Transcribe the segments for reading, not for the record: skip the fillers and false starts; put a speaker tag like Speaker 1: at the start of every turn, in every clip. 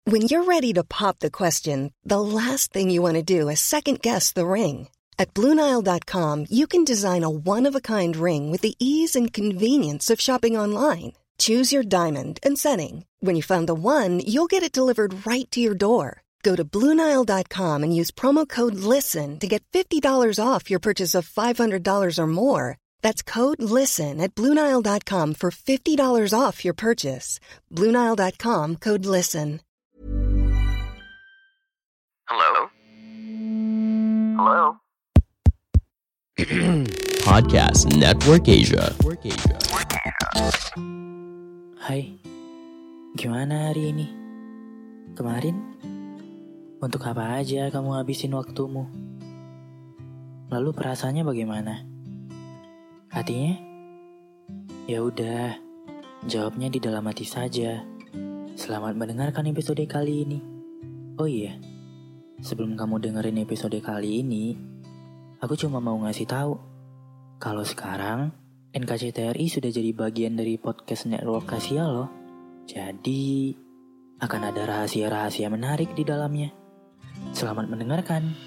Speaker 1: When you're ready to pop the question, the last thing you want to do is second-guess the ring. At BlueNile.com, you can design a one-of-a-kind ring with the ease and convenience of shopping online. Choose your diamond and setting. When you find the one, you'll get it delivered right to your door. Go to BlueNile.com and use promo code LISTEN to get $50 off your purchase of $500 or more. That's code LISTEN at BlueNile.com for $50 off your purchase. BlueNile.com, code LISTEN.
Speaker 2: Hello? Hello?
Speaker 3: Podcast Network Asia.
Speaker 4: Hai, gimana hari ini? Kemarin? Untuk apa aja kamu habisin waktumu? Lalu perasaannya bagaimana? Hatinya? Ya udah, jawabnya di dalam hati saja. Selamat mendengarkan episode kali ini. Oh iya, sebelum kamu dengerin episode kali ini, aku cuma mau ngasih tahu kalau sekarang NKCTRI sudah jadi bagian dari podcast network Asia loh. Jadi akan ada rahasia-rahasia menarik di dalamnya. Selamat mendengarkan.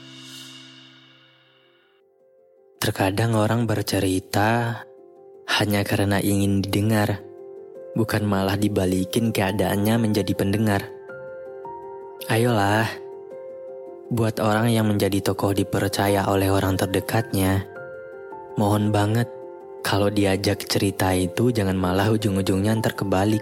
Speaker 5: Terkadang orang bercerita hanya karena ingin didengar, bukan malah dibalikin keadaannya menjadi pendengar. Ayolah, buat orang yang menjadi tokoh dipercaya oleh orang terdekatnya, mohon banget kalau diajak cerita itu jangan malah ujung-ujungnya ntar kebalik.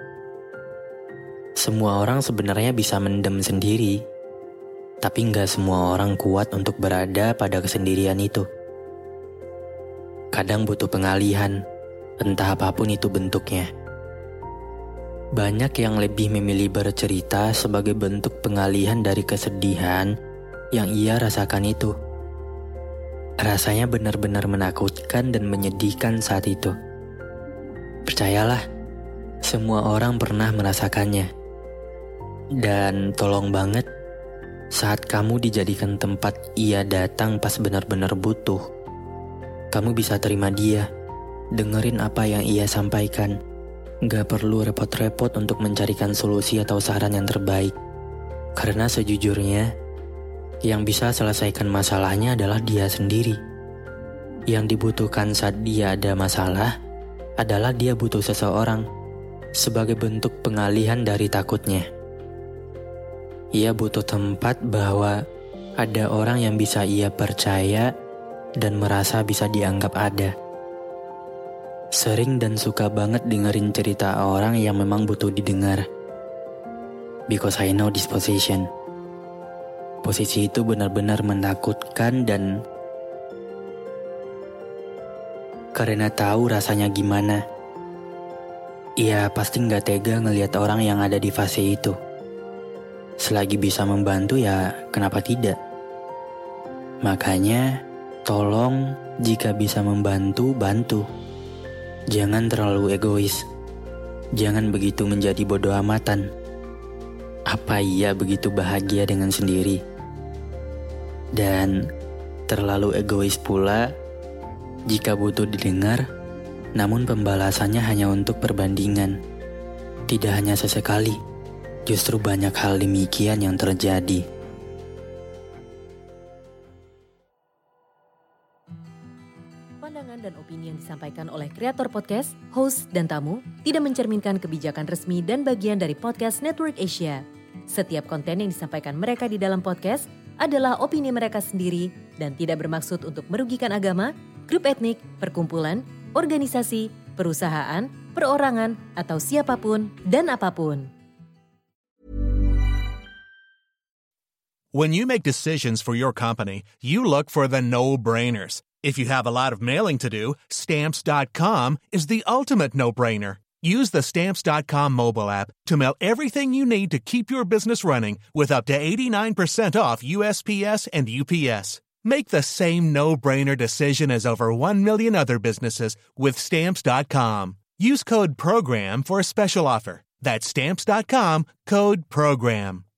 Speaker 5: Semua orang sebenarnya bisa mendem sendiri, tapi nggak semua orang kuat untuk berada pada kesendirian itu. Kadang butuh pengalihan, entah apapun itu bentuknya. Banyak yang lebih memilih bercerita sebagai bentuk pengalihan dari kesedihan yang ia rasakan itu. Rasanya benar-benar menakutkan dan menyedihkan saat itu. Percayalah, semua orang pernah merasakannya. Dan tolong banget, saat kamu dijadikan tempat ia datang pas benar-benar butuh, kamu bisa terima dia, dengerin apa yang ia sampaikan. Gak perlu repot-repot untuk mencarikan solusi atau saran yang terbaik. Karena sejujurnya, yang bisa selesaikan masalahnya adalah dia sendiri. Yang dibutuhkan saat dia ada masalah adalah dia butuh seseorang sebagai bentuk pengalihan dari takutnya. Ia butuh tempat bahwa ada orang yang bisa ia percaya dan merasa bisa dianggap ada. Sering dan suka banget dengerin cerita orang yang memang butuh didengar. Because I know this position. Posisi itu benar-benar menakutkan dan karena tahu rasanya gimana. Ia pasti gak tega ngelihat orang yang ada di fase itu. Selagi bisa membantu ya kenapa tidak? Makanya tolong jika bisa membantu, bantu. Jangan terlalu egois. Jangan begitu menjadi bodoh amatan. Apa ia begitu bahagia dengan sendiri? Dan terlalu egois pula jika butuh didengar, namun pembalasannya hanya untuk perbandingan. Tidak hanya sesekali, justru banyak hal demikian yang terjadi.
Speaker 6: Pandangan dan opini yang disampaikan oleh kreator podcast, host, dan tamu tidak mencerminkan kebijakan resmi dan bagian dari podcast Network Asia. Setiap konten yang disampaikan mereka di dalam podcast adalah opini mereka sendiri dan tidak bermaksud untuk merugikan agama, grup etnik, perkumpulan, organisasi, perusahaan, perorangan, atau siapapun dan apapun.
Speaker 7: When you make decisions for your company, you look for the no-brainers. If you have a lot of mailing to do, Stamps.com is the ultimate no-brainer. Use the Stamps.com mobile app to mail everything you need to keep your business running with up to 89% off USPS and UPS. Make the same no-brainer decision as over 1 million other businesses with Stamps.com. Use code PROGRAM for a special offer. That's Stamps.com, code PROGRAM.